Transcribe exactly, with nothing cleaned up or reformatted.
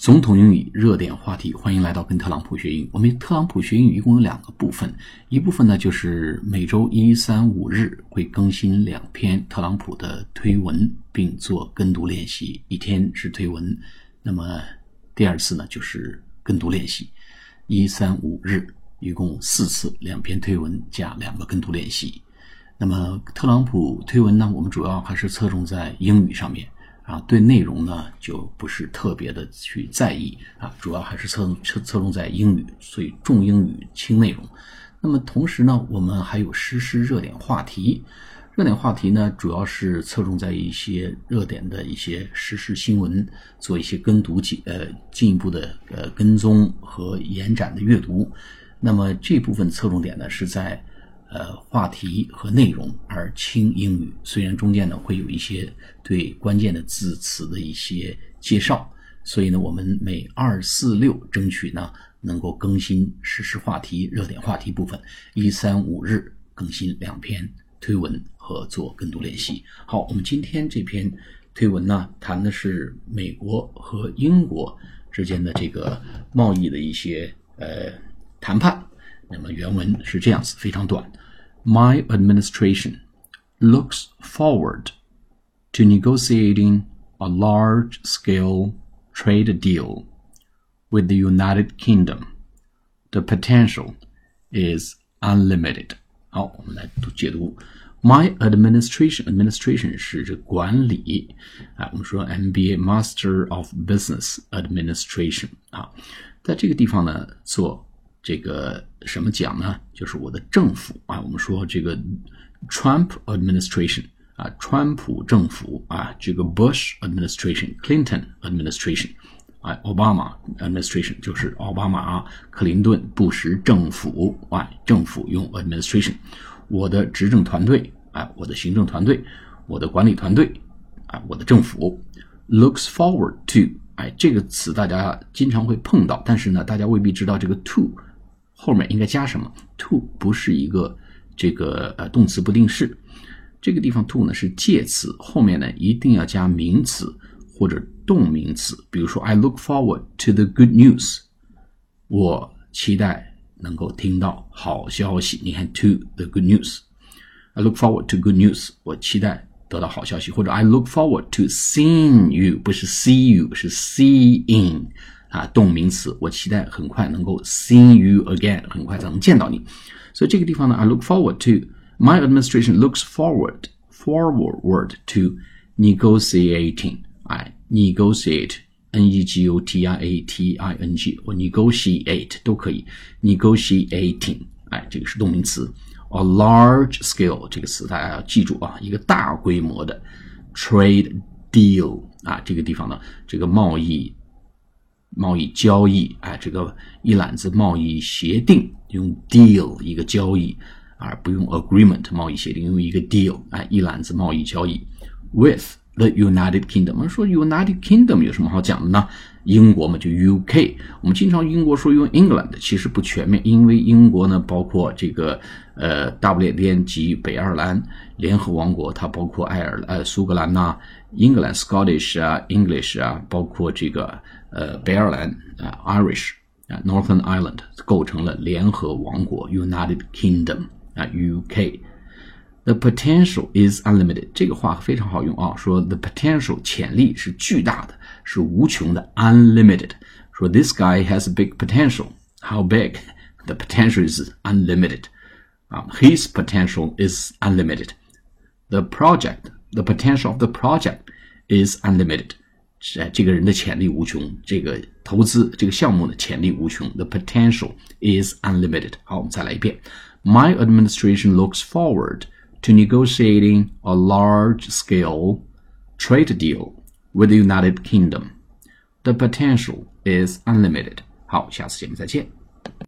总统英语热点话题，欢迎来到跟特朗普学英语。我们特朗普学英语一共有两个部分，一部分呢就是每周一、三、五日会更新两篇特朗普的推文，并做跟读练习，一天是推文。那么第二次呢就是跟读练习，一、三、五日一共四次，两篇推文加两个跟读练习。那么特朗普推文呢，我们主要还是侧重在英语上面。啊，对内容呢就不是特别的去在意啊，主要还是侧侧侧重在英语，所以重英语轻内容。那么同时呢，我们还有实时热点话题，热点话题呢主要是侧重在一些热点的一些时事新闻，做一些跟读呃进一步的呃跟踪和延展的阅读。那么这部分侧重点呢是在呃，话题和内容，而轻英语。虽然中间呢会有一些对关键的字词的一些介绍，所以呢，我们每二、四、六争取呢能够更新时事话题、热点话题部分，一、三、五日更新两篇推文和做跟读练习。好，我们今天这篇推文呢谈的是美国和英国之间的这个贸易的一些呃谈判。那么原文是这样子，非常短。My administration looks forward to negotiating a large-scale trade deal with the United Kingdom. The potential is unlimited. 好，我们来解读。My administration, administration 是这管理啊，我们说 M B A Master of Business Administration 啊，在这个地方呢做这个什么讲呢？就是我的政府啊，我们说这个 Trump administration 啊，川普政府啊，这个 Bush administration、Clinton administration 啊 ，Obama administration 就是奥巴马、克林顿、布什政府啊，政府用 administration。我的执政团队啊，我的行政团队，我的管理团队啊，我的政府 looks forward to， 哎，这个词大家经常会碰到，但是呢，大家未必知道这个 to。后面应该加什么 ？to 不是一个这个呃动词不定式，这个地方 to 呢是介词，后面呢一定要加名词或者动名词。比如说 I look forward to the good news， 我期待能够听到好消息。你看 to the good news，I look forward to good news， 我期待得到好消息。或者 I look forward to seeing you， 不是 see you， 是 seeing。啊，动名词，我期待很快能够 see you again， 很快才能见到你。所以这个地方呢 ，I look forward to my administration looks forward forward to negotiating， 哎 ，negotiate n e g o t i a t i n g 或 negotiate 都可以 ，negotiating， 哎，这个是动名词。A large scale 这个词大家要记住啊，一个大规模的 trade deal 啊，这个地方呢，这个贸易。贸易交易，哎，这个一揽子贸易协定，用 deal 一个交易，而不用 agreement 贸易协定，用一个 deal， 哎，一揽子贸易交易 with the United Kingdom。我们说 United Kingdom 有什么好讲的呢？英国嘛，就 U K。我们经常英国说用 England， 其实不全面，因为英国呢包括这个呃大不列颠及北爱尔兰联合王国，它包括爱尔呃苏格兰呐、啊、英格兰 Scottish 啊 English 啊，包括这个呃北爱尔兰啊 Irish 啊 Northern Ireland 构成了联合王国 United Kingdom 啊 U K。The potential is unlimited， 这个话非常好用啊，说 the potential 潜力是巨大的，是无穷的 unlimited。说 this guy has a big potential， how big？ The potential is unlimited。啊 ，his potential is unlimited。The project, the potential of the project is unlimited。这个人的潜力无穷，这个投资这个项目的潜力无穷。The potential is unlimited。好，我们再来一遍。My administration looks forward to negotiating a large-scale trade deal with the United Kingdom. The potential is unlimited. 好，下次节目再见。